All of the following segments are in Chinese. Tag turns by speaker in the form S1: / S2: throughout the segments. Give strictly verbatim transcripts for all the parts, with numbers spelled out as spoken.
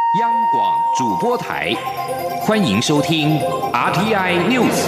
S1: 央广主播台，欢迎收听 R T I News。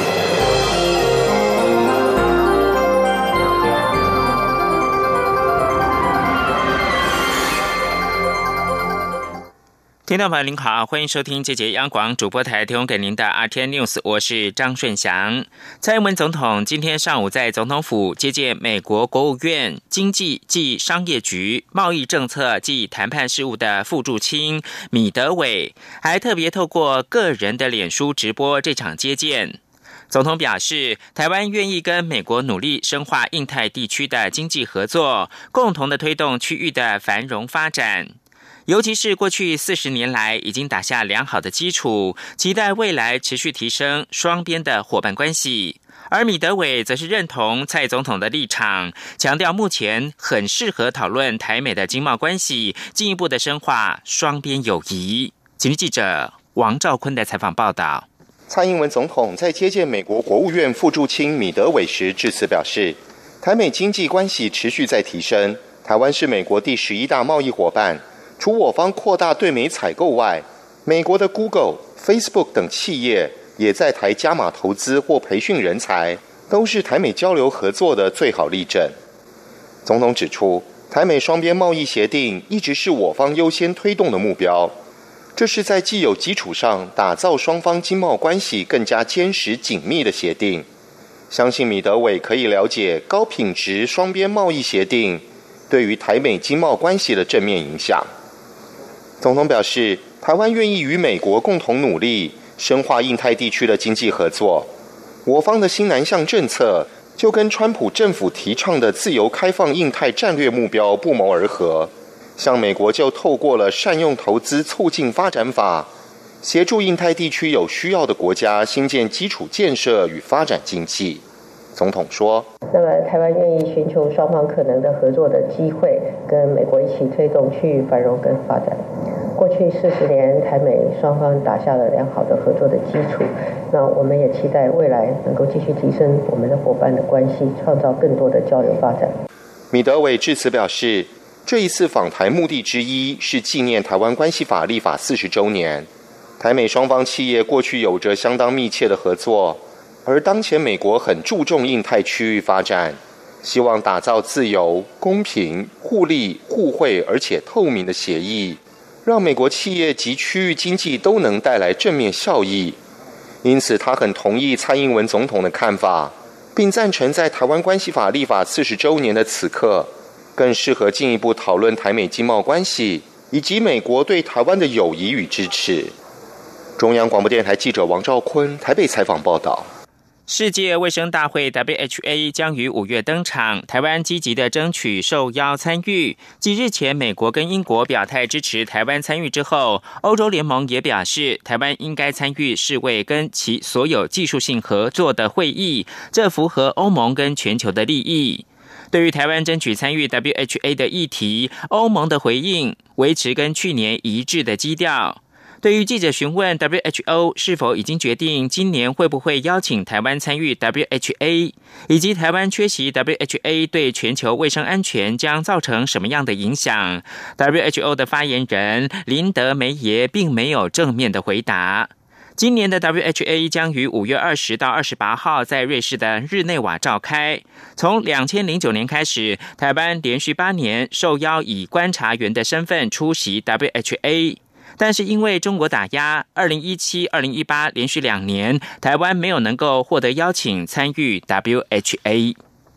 S2: 听众朋友您好，欢迎收听这节央广主播台提供给您的 R T I News， 我是张顺祥。蔡英文总统今天上午在总统府接见美国国务院经济暨商业局贸易政策暨谈判事务的副驻青米德伟，还特别透过个人的脸书直播这场接见。总统表示，台湾愿意跟美国努力深化印太地区的经济合作，共同的推动区域的繁荣发展。尤其是过去四十年来已经打下良好的基础，期待未来持续提升双边的伙伴关系。而米德伟则是认同蔡总统的立场，强调目前很适合讨论台美的经贸关系，进一步的深化双边友谊。请听记者王兆坤的采访报道。
S3: 蔡英文总统在接见美国国务院副驻青米德伟时致辞表示，台美经济关系持续在提升，台湾是美国第十一大贸易伙伴。除我方扩大对美采购外，美国的 Google、Facebook 等企业也在台加码投资或培训人才，都是台美交流合作的最好例证。总统指出，台美双边贸易协定一直是我方优先推动的目标，这是在既有基础上打造双方经贸关系更加坚实紧密的协定。相信米德伟可以了解高品质双边贸易协定对于台美经贸关系的正面影响。总统表示，台湾愿意与美国共同努力，深化印太地区的经济合作。我方的新南向政策就跟川普政府提倡的自由开放印太战略目标不谋而合。像美国就透过了善用投资促进发展法，协助印太地区有需要的国家兴建基础建设与发展经济。总统说，
S4: 那么台湾愿意寻求双方可能的合作的机会，跟美国一起推动区域繁荣跟发展。过去四十年，台美双方打下了良好的合作的基础，那我们也期待未来能够继续提升我们的伙伴的关系，创造更多的交流发展。
S3: 米德伟致辞表示，这一次访台目的之一是纪念台湾关系法立法四十周年。台美双方企业过去有着相当密切的合作，而当前美国很注重印太区域发展，希望打造自由、公平、互利、互惠而且透明的协议，让美国企业及区域经济都能带来正面效益。因此他很同意蔡英文总统的看法，并赞成在台湾关系法立法四十周年的此刻，更适合进一步讨论台美经贸关系以及美国对台湾的友谊与支持。中央广播电台记者王兆坤台北采访报道。
S2: 世界卫生大会 W H A 将于五月登场，台湾积极的争取受邀参与。继日前美国跟英国表态支持台湾参与之后，欧洲联盟也表示台湾应该参与世卫跟其所有技术性合作的会议，这符合欧盟跟全球的利益。对于台湾争取参与 W H A 的议题，欧盟的回应维持跟去年一致的基调。对于记者询问 W H O 是否已经决定今年会不会邀请台湾参与 W H A， 以及台湾缺席 W H A 对全球卫生安全将造成什么样的影响， W H O 的发言人林德梅耶并没有正面的回答。今年的 W H A 将于五月二十到二十八号在瑞士的日内瓦召开。从两千零九年开始，台湾连续八年受邀以观察员的身份出席 W H A。但是因为中国打压，二零一七、二零一八连续两年，台湾没有能够获得邀请参与 W H A。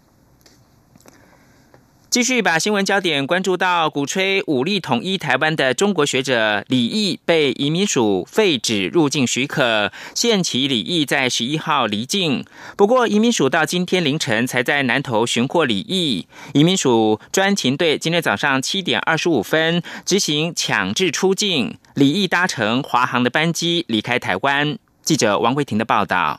S2: 继续把新闻焦点关注到鼓吹武力统一台湾的中国学者李毅被移民署废止入境许可，限期李毅在十一号离境。不过移民署到今天凌晨才在南投寻获李毅，移民署专勤队今天早上七点二十五分执行强制出境，李毅搭乘华航的班机离开台湾。记者王慧婷的报道。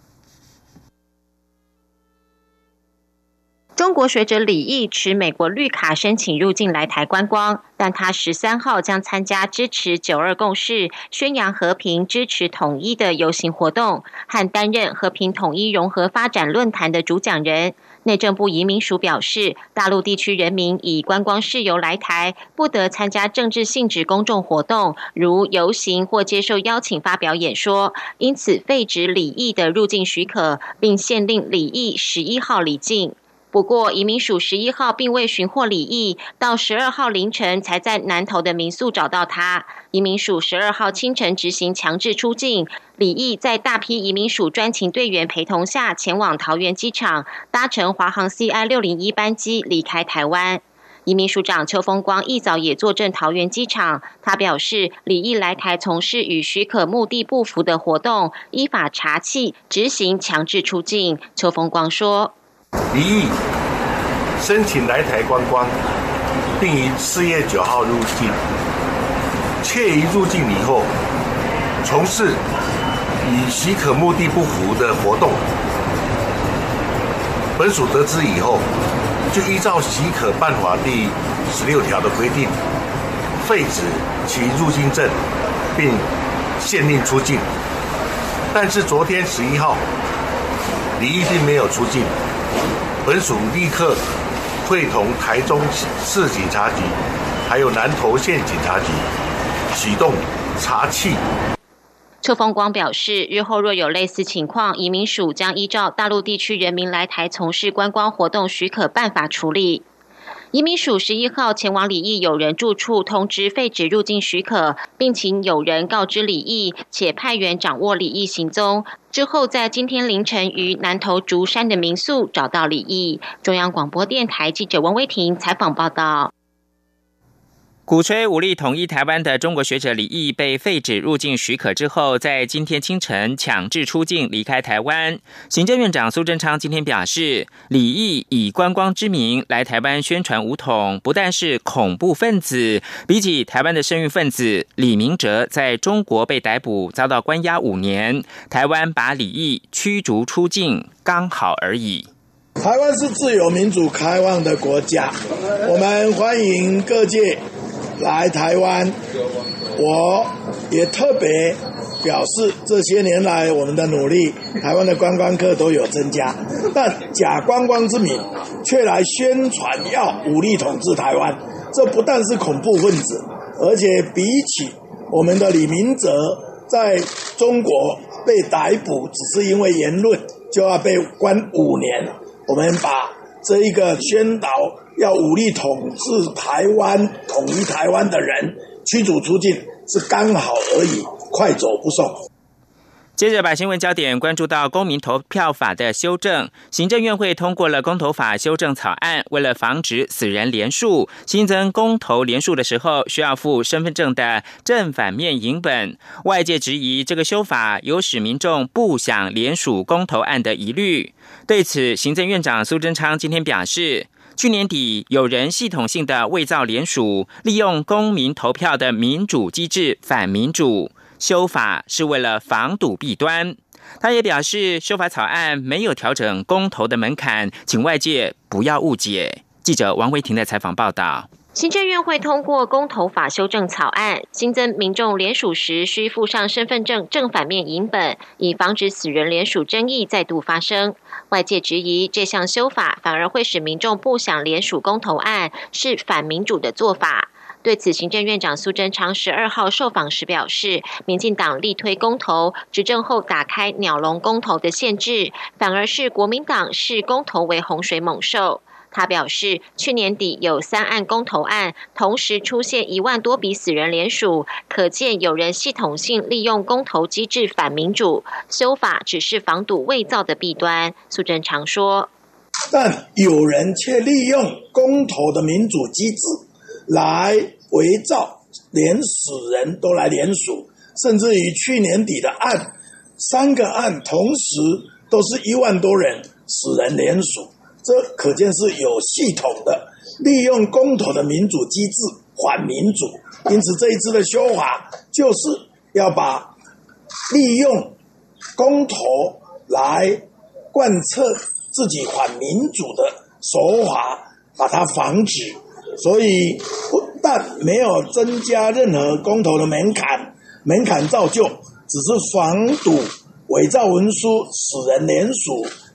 S5: 中国学者李毅持美国绿卡申请入境来台观光，但他十三号将参加支持九二共识、宣扬和平、支持统一的游行活动，和担任和平统一融合发展论坛的主讲人。 内政部移民署表示，大陆地区人民以观光事由来台，不得参加政治性质公众活动，如游行或接受邀请发表演说，因此废止李毅的入境许可，并限令李毅十一号离境。不过，移民署十一号并未寻获李毅，到十二号凌晨才在南投的民宿找到他。移民署十二号清晨执行强制出境，李毅在大批移民署专勤队员陪同下前往桃园机场，搭乘华航 C I 六零一 班机离开台湾。移民署长邱风光一早也坐镇桃园机场，他表示，李毅来台从事与许可目的不符的活动，依法查缉执行强制出境。邱风光说，
S6: 李毅申请来台观光，并于四月九号入境，却于入境以后从事与许可目的不符的活动。本署得知以后，就依照许可办法第十六条的规定，废止其入境证，并限令出境。但是昨天十一号，李毅并没有出境。本署立刻会同台中市警察局还有南投县警察局启动查缉。
S5: 邱风光表示，日后若有类似情况，移民署将依照大陆地区人民来台从事观光活动许可办法处理。移民署十一号前往李毅友人住处通知废止入境许可，并请友人告知李毅，且派员掌握李毅行踪。之后在今天凌晨于南投竹山的民宿找到李毅。中央广播电台记者温威婷采访报道。
S2: 鼓吹武力统一台湾的中国学者李毅被废止入境许可之后，在今天清晨强制出境离开台湾。行政院长苏贞昌今天表示，李毅以观光之名来台湾宣传武统，不但是恐怖分子，比起台湾的圣运分子李明哲在中国被逮捕遭到关押五年，台湾把李毅驱逐出境刚好而已。
S7: 台湾是自由民主开放的国家，我们欢迎各界来台湾。我也特别表示，这些年来我们的努力，台湾的观光客都有增加，但假观光之名却来宣传要武力统治台湾，这不但是恐怖分子，而且比起我们的李明哲在中国被逮捕只是因为言论就要被关五年，我们把这一个宣导要武力统治台湾、统一台湾的人驱逐出境，是刚好而已，快走不送。
S2: 接着把新闻焦点关注到公民投票法的修正，行政院会通过了公投法修正草案，为了防止死人连署，新增公投连署的时候需要附身份证的正反面影本。外界质疑这个修法有使民众不想连署公投案的疑虑。对此，行政院长苏贞昌今天表示，去年底有人系统性的伪造连署，利用公民投票的民主机制反民主，修法是为了防堵弊端。他也表示，修法草案没有调整公投的门槛，请外界不要误解。记者王维婷的采访报道。
S5: 行政院会通过公投法修正草案，新增民众联署时需附上身份证正反面影本，以防止死人联署争议再度发生。外界质疑这项修法反而会使民众不想联署公投案，是反民主的做法。对此，行政院长苏贞昌十二号受访时表示，民进党力推公投，执政后打开鸟笼公投的限制，反而是国民党视公投为洪水猛兽。他表示，去年底有三案公投案，同时出现一万多笔死人联署，可见有人系统性利用公投机制反民主，修法只是防堵伪造的弊端。苏贞昌说，
S7: 但有人却利用公投的民主机制来伪造，连死人都来联署，甚至于去年底的案，三个案同时都是一万多人死人联署，这可见是有系统的利用公投的民主机制反民主。因此这一次的修法就是要把利用公投来贯彻自己反民主的手法把它防止，所以不但没有增加任何公投的门槛，门槛照旧，只是防堵伪造文书、死人联署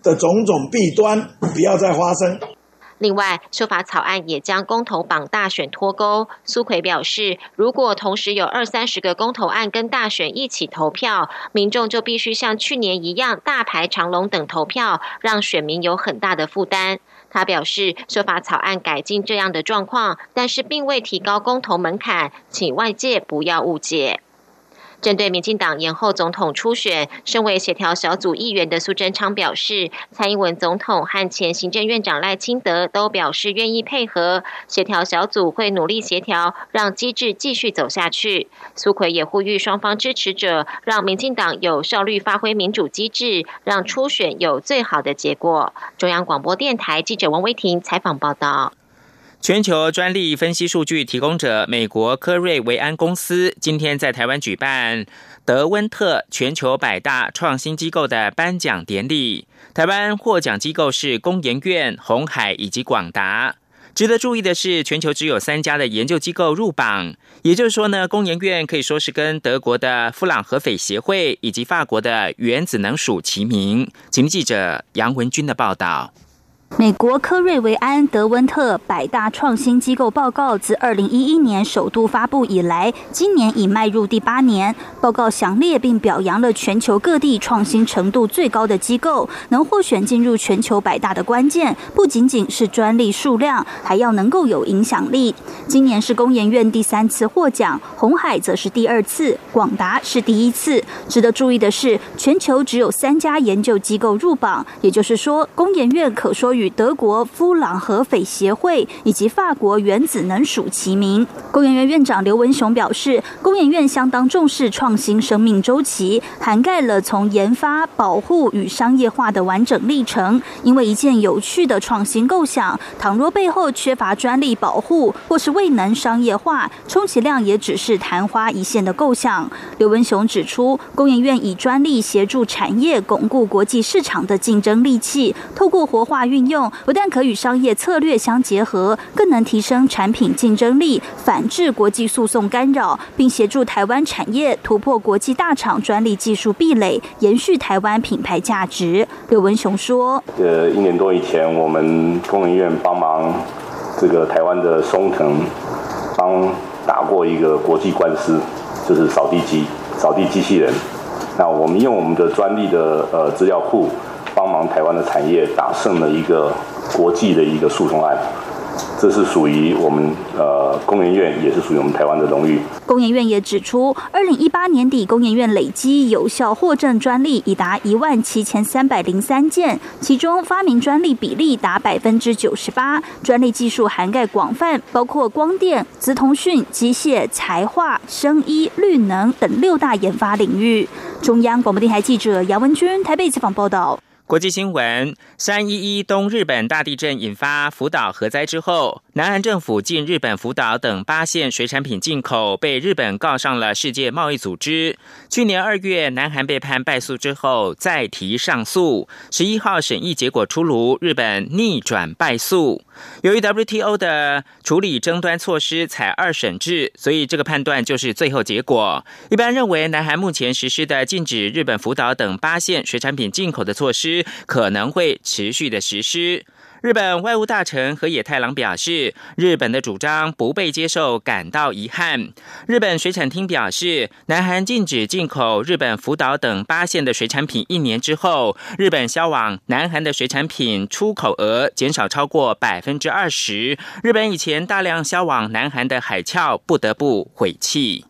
S7: 的种种弊端不要再发生。
S5: 另外，修法草案也将公投绑大选脱钩。苏揆表示，如果同时有二三十个公投案跟大选一起投票，民众就必须像去年一样大排长龙等投票，让选民有很大的负担。他表示，修法草案改进这样的状况，但是并未提高公投门槛，请外界不要误解。针对民进党延后总统初选，身为协调小组议员的苏贞昌表示，蔡英文总统和前行政院长赖清德都表示愿意配合，协调小组会努力协调，让机制继续走下去。苏揆也呼吁双方支持者，让民进党有效率发挥民主机制，让初选有最好的结果。中央广播电台记者王威婷采访报道。
S2: 全球专利分析数据提供者美国科瑞维安公司今天在台湾举办德温特全球百大创新机构的颁奖典礼，台湾获奖机构是工研院、鸿海以及广达。值得注意的是，全球只有三家的研究机构入榜，也就是说呢，工研院可以说是跟德国的夫朗合斐协会以及法国的原子能署齐名。请记者杨文君的报道。
S8: 美国科瑞维安德温特百大创新机构报告自二零一一年首度发布以来，今年已迈入第八年。报告详列并表扬了全球各地创新程度最高的机构，能获选进入全球百大的关键，不仅仅是专利数量，还要能够有影响力。今年是工研院第三次获奖，鸿海则是第二次，广达是第一次。值得注意的是，全球只有三家研究机构入榜，也就是说，工研院可说与德国夫朗合斐协会以及法国原子能署齐名。工研院院长刘文雄表示，工研院相当重视创新生命周期，涵盖了从研发、保护与商业化的完整历程。因为一件有趣的创新构想，倘若背后缺乏专利保护或是未能商业化，充其量也只是昙花一现的构想。刘文雄指出，工研院以专利协助产业巩固国际市场的竞争利器，透过活化运用，不但可与商业策略相结合，更能提升产品竞争力，反制国际诉讼干扰，并协助台湾产业突破国际大厂专利技术壁垒，延续台湾品牌价值。刘文雄说：
S9: 呃，一年多以前，我们工研院帮忙这个台湾的松腾帮打过一个国际官司，就是扫地机、扫地机器人。那我们用我们的专利的呃资料库，帮忙台湾的产业打胜了一个国际的一个诉讼案，这是属于我们呃工研院，也是属于我们台湾的荣誉。
S8: 工研院也指出，二零一八年底，工研院累积有效获证专利已达一万七千三百零三件，其中发明专利比例达百分之九十八，专利技术涵盖广泛，包括光电、资通讯、机械、材化、生医、绿能等六大研发领域。中央广播电台记者杨文君台北采访报道。
S2: 国际新闻：三一一东日本大地震引发福岛核灾之后，南韩政府禁日本福岛等八县水产品进口，被日本告上了世界贸易组织。去年二月，南韩被判败诉之后再提上诉，十一号审议结果出炉，日本逆转败诉。由于 W T O 的处理争端措施采二审制，所以这个判断就是最后结果。一般认为，南韩目前实施的禁止日本福岛等八县水产品进口的措施可能会持续的实施。日本外务大臣河野太郎表示，日本的主张不被接受，感到遗憾。日本水产厅表示，南韩禁止进口日本福岛等八县的水产品一年之后，日本销往南韩的水产品出口额减少超过百分之二十。日本以前大量销往南韩的海鞘不得不悔弃。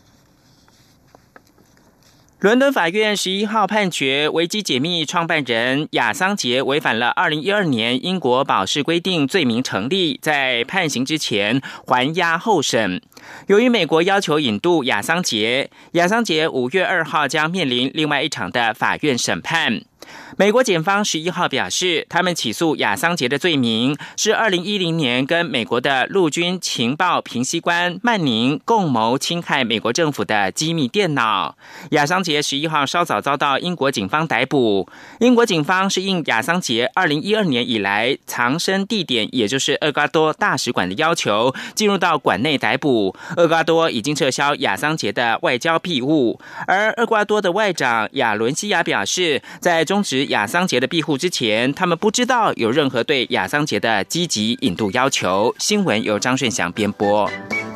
S2: 伦敦法院十一号判决，维基解密创办人亚桑杰违反了二零一二年英国保释规定罪名成立，在判刑之前还押候审。由于美国要求引渡亚桑杰，亚桑杰五月二号将面临另外一场的法院审判。美国检方十一号表示，他们起诉亚桑杰的罪名是二零一零年跟美国的陆军情报评析官曼宁共谋侵害美国政府的机密电脑。亚桑杰十一号稍早遭到英国警方逮捕。英国警方是应亚桑杰二零一二年以来藏身地点，也就是厄瓜多大使馆的要求，进入到馆内逮捕。厄瓜多已经撤销亚桑杰的外交庇护，而厄瓜多的外长亚伦西亚表示，在中终止亚桑杰的庇护之前，他们不知道有任何对亚桑杰的积极引渡要求。新闻由张顺祥编播。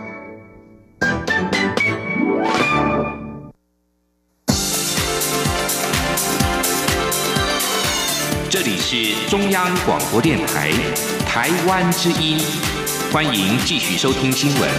S1: 这里是中央广播电台台湾之音，欢迎继续收听新闻。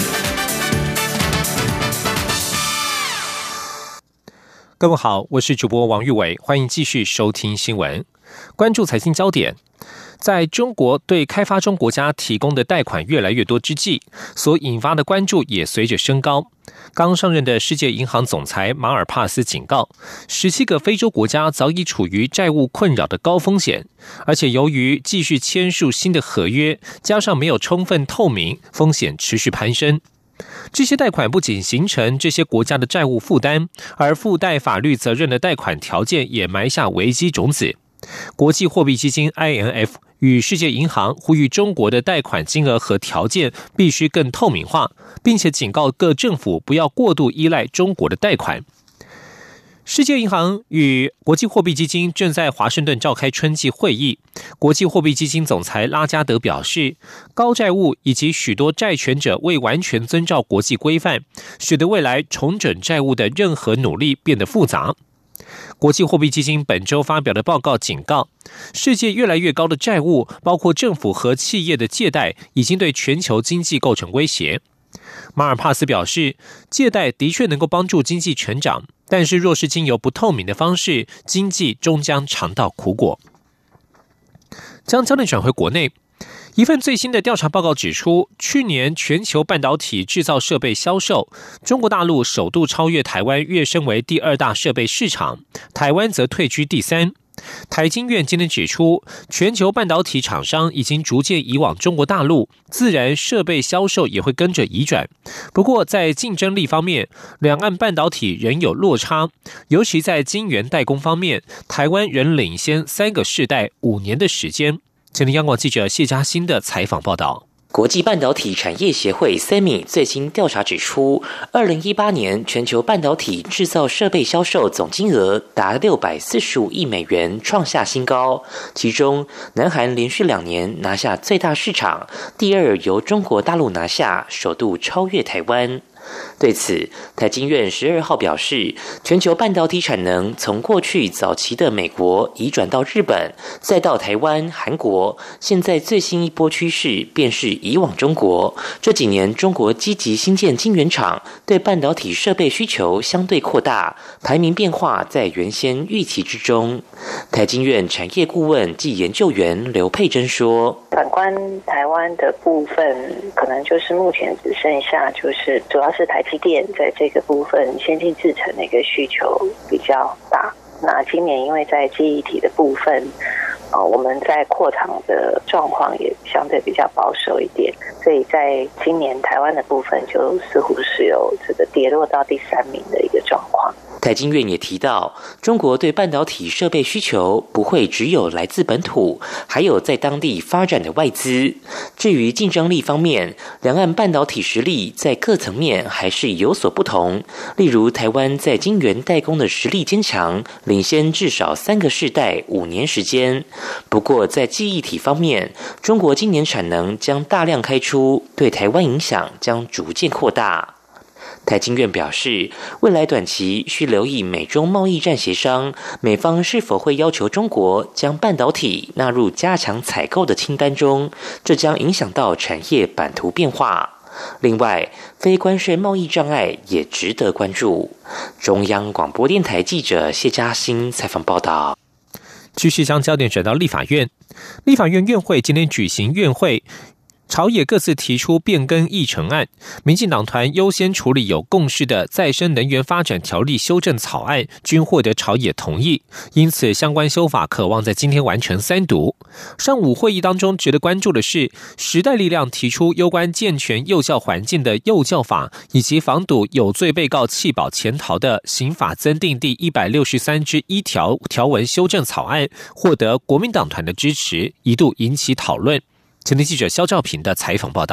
S10: 各位好，我是主播王玉伟，欢迎继续收听新闻。关注财经焦点，在中国对开发中国家提供的贷款越来越多之际，所引发的关注也随着升高。刚上任的世界银行总裁马尔帕斯警告，十七个非洲国家早已处于债务困扰的高风险，而且由于继续签署新的合约，加上没有充分透明，风险持续攀升。这些贷款不仅形成这些国家的债务负担，而附带法律责任的贷款条件也埋下危机种子。国际货币基金 I M F 与世界银行呼吁中国的贷款金额和条件必须更透明化，并且警告各政府不要过度依赖中国的贷款。世界银行与国际货币基金正在华盛顿召开春季会议。国际货币基金总裁拉加德表示，高债务以及许多债权者未完全遵照国际规范，使得未来重整债务的任何努力变得复杂。国际货币基金本周发表的报告警告，世界越来越高的债务，包括政府和企业的借贷，已经对全球经济构成威胁。马尔帕斯表示，借贷的确能够帮助经济成长，但是若是经由不透明的方式，经济终将尝到苦果。将焦点转回国内，一份最新的调查报告指出，去年全球半导体制造设备销售，中国大陆首度超越台湾，跃升为第二大设备市场，台湾则退居第三。台经院今天指出，全球半导体厂商已经逐渐移往中国大陆，自然设备销售也会跟着移转。不过在竞争力方面，两岸半导体仍有落差，尤其在晶圆代工方面，台湾仍领先三个世代五年的时间。前天央广记者谢嘉欣的采访报道。
S11: 国际半导体产业协会 S E M I 最新调查指出，二零一八年全球半导体制造设备销售总金额达六百四十五亿美元，创下新高。其中，南韩连续两年拿下最大市场，第二由中国大陆拿下，首度超越台湾。对此，台经院十二号表示，全球半导体产能从过去早期的美国移转到日本，再到台湾、韩国，现在最新一波趋势便是移往中国。这几年，中国积极新建晶圆厂，对半导体设备需求相对扩大，排名变化在原先预期之中。台经院产业顾问暨研究员刘佩珍说：“
S12: 反观台湾的部分，可能就是目前只剩下就是主要是台积电在这个部分先进制程的一个需求比较大。那今年因为在记忆体的部分，呃，我们在扩厂的状况也相对比较保守一点，所以在今年台湾的部分就似乎是有这个跌落到第三名的一个状况。”
S11: 台经院也提到，中国对半导体设备需求不会只有来自本土，还有在当地发展的外资。至于竞争力方面，两岸半导体实力在各层面还是有所不同。例如，台湾在晶圆代工的实力坚强，领先至少三个世代五年时间。不过，在记忆体方面，中国今年产能将大量开出，对台湾影响将逐渐扩大。台经院表示，未来短期需留意美中贸易战协商，美方是否会要求中国将半导体纳入加强采购的清单中，这将影响到产业版图变化。另外，非关税贸易障碍也值得关注。中央广播电台记者谢嘉欣采访报道。
S10: 继续将焦点转到立法院，立法院院会今天举行院会，朝野各自提出变更议程案，民进党团优先处理有共识的再生能源发展条例修正草案，均获得朝野同意，因此相关修法可望在今天完成三读。上午会议当中值得关注的是，时代力量提出有关健全幼教环境的幼教法，以及防堵有罪被告弃保潜逃的刑法增订第一百六十三之一条条文修正草案，获得国民党团的支持，一度引起讨论。前天记者肖兆平的采访报道。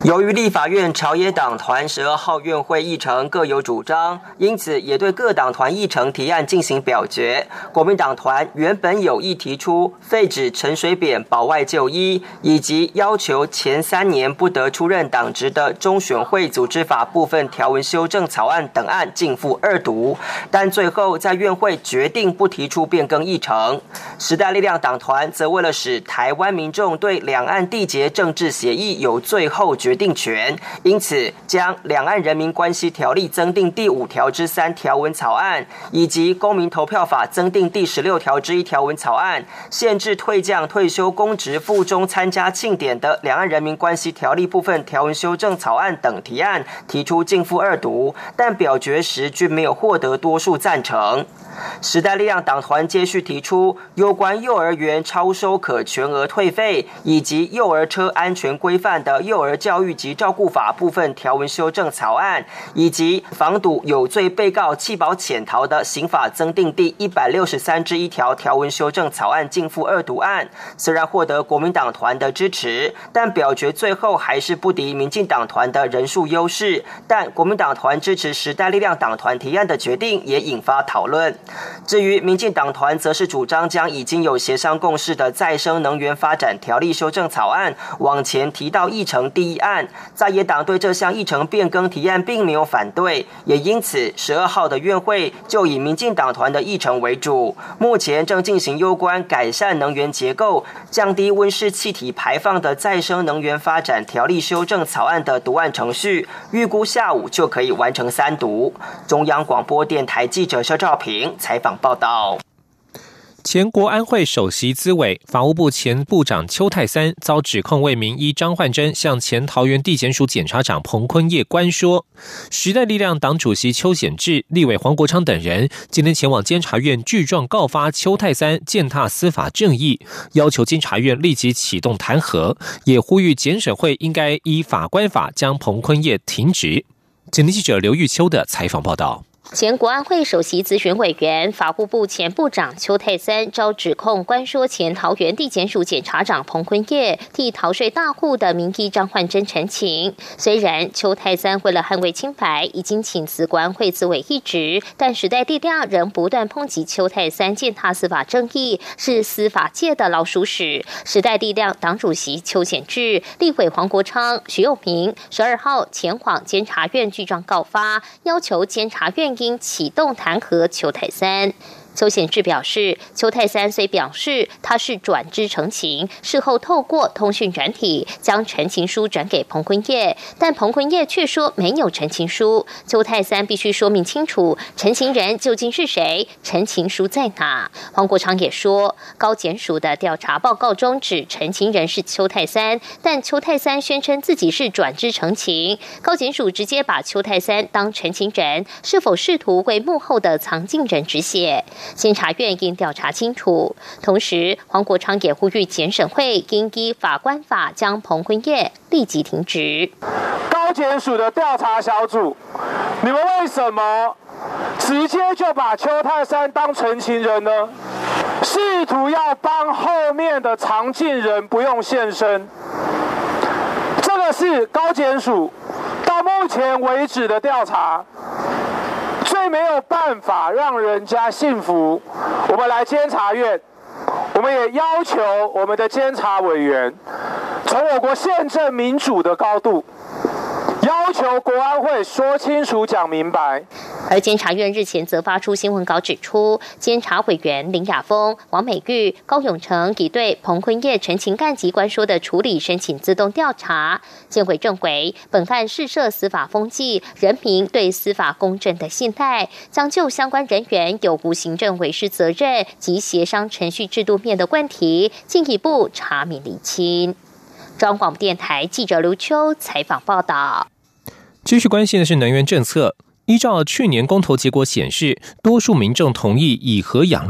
S13: 由于立法院朝野党团十二号院会议程各有主张，因此也对各党团议程提案进行表决。国民党团原本有意提出废止陈水扁保外就医，以及要求前三年不得出任党职的中选会组织法部分条文修正草案等案逕付二读，但最后在院会决定不提出变更议程。时代力量党团则为了使台湾民众对两岸缔结政治协议有最后决定权，因此将《两岸人民关系条例》增订第五条之三条文草案，以及《公民投票法》增订第十六条之一条文草案，限制退将退休公职附中参加庆典的《两岸人民关系条例》部分条文修正草案等提案提出逕付二读，但表决时均没有获得多数赞成。时代力量党团接续提出有关幼儿园超收可全额退费，以及幼儿车安全规范的幼儿教育及照顾法部分条文修正草案，以及防堵有罪被告弃保潜逃的刑法增订第一百六十三之一条条文修正草案逕付二读案。虽然获得国民党团的支持，但表决最后还是不敌民进党团的人数优势，但国民党团支持时代力量党团提案的决定也引发讨论。至于民进党团则是主张将已经有协商共识的再生能源发展条例修正草案往前提到议程第一案，在野党对这项议程变更提案并没有反对，也因此十二号的院会就以民进党团的议程为主，目前正进行有关改善能源结构、降低温室气体排放的再生能源发展条例修正草案的读案程序，预估下午就可以完成三读。中央广播电台记者肖兆平采访报道。
S10: 前国安会首席资委、法务部前部长邱泰三遭指控为名医张焕珍向前桃园地检署检察长彭坤业关说，时代力量党主席邱显智、立委黄国昌等人今天前往监察院具状告发邱泰三践踏司法正义，要求监察院立即启动弹劾，也呼吁检审会应该依法官法将彭坤业停职。前记者刘玉秋的采访报道。
S5: 前国安会首席咨询委员、法务部前部长邱泰三遭指控关说前桃园地检署检察长彭坤业替逃税大户的名医张焕珍陈情。虽然邱泰三为了捍卫清白，已经请辞国安会资委一职，但时代力量仍不断抨击邱泰三践踏司法正义，是司法界的老鼠屎。时代力量党主席邱显智、立委黄国昌、徐永明十二号前往监察院具状告发，要求监察院应启动弹劾邱泰三。邱显智表示，邱泰三虽表示他是转知陈情，事后透过通讯软体将陈情书转给彭坤业，但彭坤业却说没有陈情书。邱泰三必须说明清楚陈情人究竟是谁，陈情书在哪。黄国昌也说，高检署的调查报告中指陈情人是邱泰三，但邱泰三宣称自己是转知陈情，高检署直接把邱泰三当陈情人，是否试图为幕后的藏镜人止血？监察院应调查清楚。同时，黄国昌也呼吁检审会应依法官法将彭坤业立即停职。
S14: 高检署的调查小组，你们为什么直接就把邱泰三当陈情人呢？试图要帮后面的藏镜人不用现身，这个是高检署到目前为止的调查最没有办法让人家信服。我们来监察院，我们也要求我们的监察委员从我国宪政民主的高度要求国安会说清楚讲明白。
S5: 而监察院日前则发出新闻稿指出，监察委员林雅峰、王美玉、高永成已对彭坤业陈情案及关说的处理申请自动调查。监委认为，本案试涉司法风纪，人民对司法公正的信赖，将就相关人员有无行政违失责任及协商程序制度面的问题，进一步查明厘清。中央广播电台记者刘秋采访报道。
S10: 继续关心的是能源政策。依照去年公投结果显示，多数民众同意以核养绿。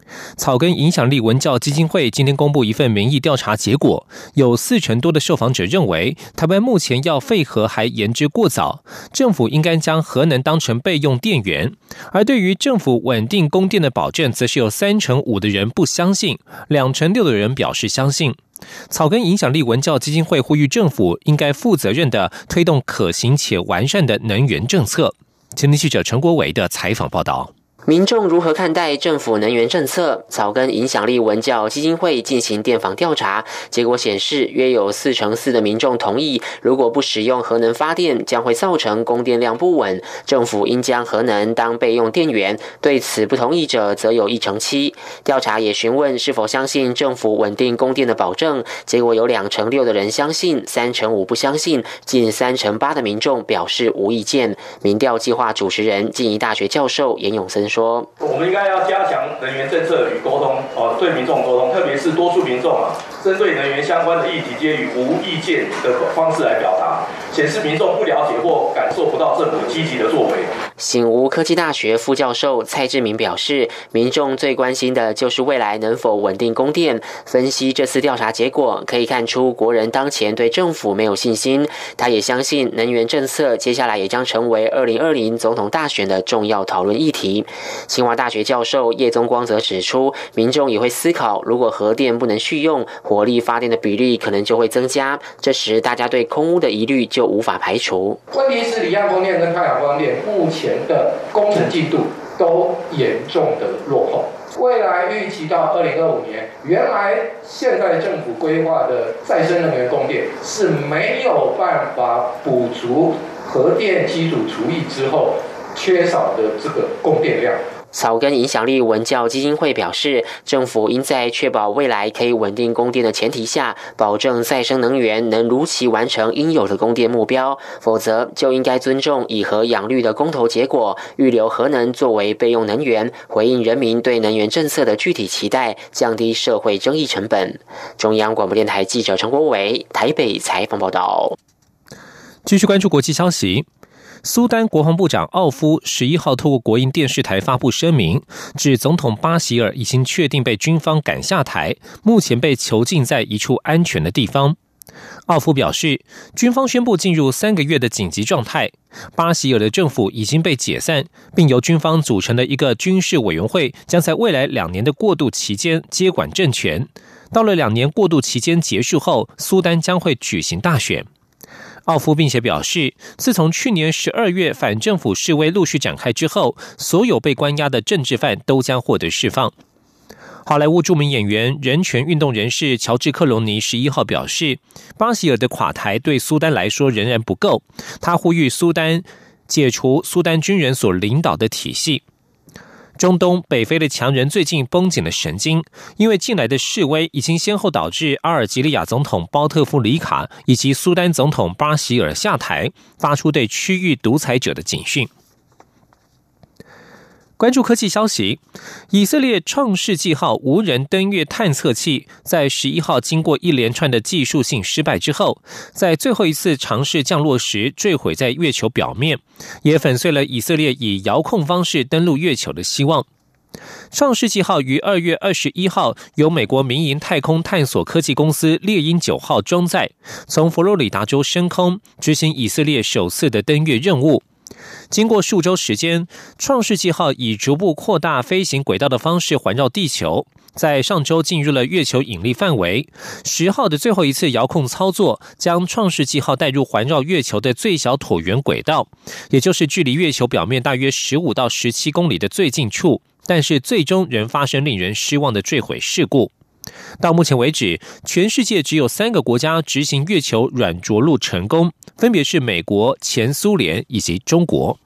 S10: 草根影响力文教基金会今天公布一份民意调查结果，有四成多的受访者认为，台湾目前要废核还言之过早，政府应该将核能当成备用电源。而对于政府稳定供电的保证，则是有三成五的人不相信，两成六的人表示相信。草根影响力文教基金会呼吁政府应该负责任地推动可行且完善的能源政策。前天记者陈国维的采访报道。
S11: 民众如何看待政府能源政策？草根影响力文教基金会进行电访调查，结果显示，约有四成四的民众同意，如果不使用核能发电，将会造成供电量不稳，政府应将核能当备用电源。对此不同意者，则有一成七。调查也询问是否相信政府稳定供电的保证，结果有两成六的人相信，三成五不相信，近三成八的民众表示无意见。民调计划主持人、静宜大学教授严永森说。
S15: 我们应该要加强能源政策与沟通，哦，对民众沟通，特别是多数民众啊，针对能源相关的议题，皆以无意见的方式来表达，显示民众不了解或感受不到政府积极的作为。
S11: 醒吾科技大学副教授蔡志明表示，民众最关心的就是未来能否稳定供电。分析这次调查结果，可以看出国人当前对政府没有信心。他也相信能源政策接下来也将成为二零二零总统大选的重要讨论议题。清华大学教授叶宗光则指出，民众也会思考，如果核电不能续用，火力发电的比例可能就会增加，这时大家对空污的疑虑就无法排除。
S16: 问题是离岸风电跟太阳光电目前的工程进度都严重的落后，未来预期到二零二五年，原来现在政府规划的再生能源供电是没有办法补足核电基础除役之后缺少的这个供电量。
S11: 草根影响力文教基金会表示，政府应在确保未来可以稳定供电的前提下，保证再生能源能如期完成应有的供电目标，否则就应该尊重以核养绿的公投结果，预留核能作为备用能源，回应人民对能源政策的具体期待，降低社会争议成本。中央广播电台记者陈国维台北采访报道。
S10: 继续关注国际消息。苏丹国防部长奥夫十一号透过国营电视台发布声明，指总统巴希尔已经确定被军方赶下台，目前被囚禁在一处安全的地方。奥夫表示，军方宣布进入三个月的紧急状态，巴希尔的政府已经被解散，并由军方组成的一个军事委员会将在未来两年的过渡期间接管政权。到了两年过渡期间结束后，苏丹将会举行大选。奥夫并且表示，自从去年十二月反政府示威陆续展开之后，所有被关押的政治犯都将获得释放。好莱坞著名演员、人权运动人士乔治·克隆尼十一号表示，巴希尔的垮台对苏丹来说仍然不够，他呼吁苏丹解除苏丹军人所领导的体系。中东北非的强人最近绷紧了神经，因为近来的示威已经先后导致阿尔及利亚总统包特夫里卡以及苏丹总统巴希尔下台，发出对区域独裁者的警讯。关注科技消息，以色列创世纪号无人登月探测器在十一号经过一连串的技术性失败之后，在最后一次尝试降落时坠毁在月球表面，也粉碎了以色列以遥控方式登陆月球的希望。创世纪号于二月二十一号由美国民营太空探索科技公司猎鹰九号装载，从佛罗里达州升空，执行以色列首次的登月任务。经过数周时间，创世纪号以逐步扩大飞行轨道的方式环绕地球，在上周进入了月球引力范围。十号的最后一次遥控操作将创世纪号带入环绕月球的最小椭圆轨道，也就是距离月球表面大约十五到十七公里的最近处，但是最终仍发生令人失望的坠毁事故。到目前为止，全世界只有三个国家执行月球软着陆成功，分别是美国、前苏联以及中国。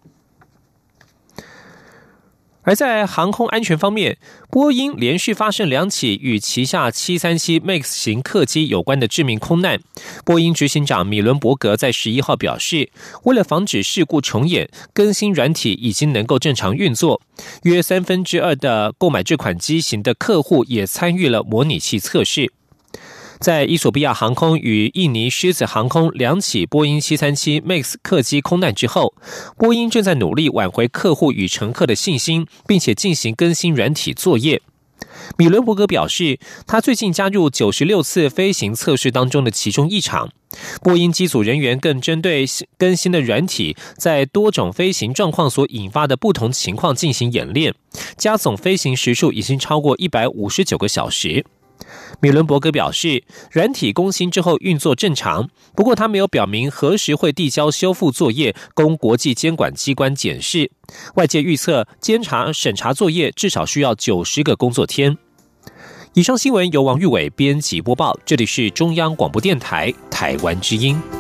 S10: 而在航空安全方面，波音连续发生两起与旗下七三七 MAX 型客机有关的致命空难。波音执行长米伦伯格在十一号表示，为了防止事故重演，更新软体已经能够正常运作。约三分之二的购买这款机型的客户也参与了模拟器测试。在伊索比亚航空与印尼狮子航空两起波音七三七 MAX 客机空难之后，波音正在努力挽回客户与乘客的信心，并且进行更新软体作业。 米伦伯格表示，他最近加入九十六次飞行测试当中的其中一场。波音机组人员更针对更新的软体在多种飞行状况所引发的不同情况进行演练，加总飞行时数已经超过一百五十九个小时。米伦伯格表示，软体更新之后运作正常，不过他没有表明何时会递交修复作业供国际监管机关检视。外界预测监察审查作业至少需要九十个工作天。以上新闻由王玉伟编辑播报，这里是中央广播电台台湾之音。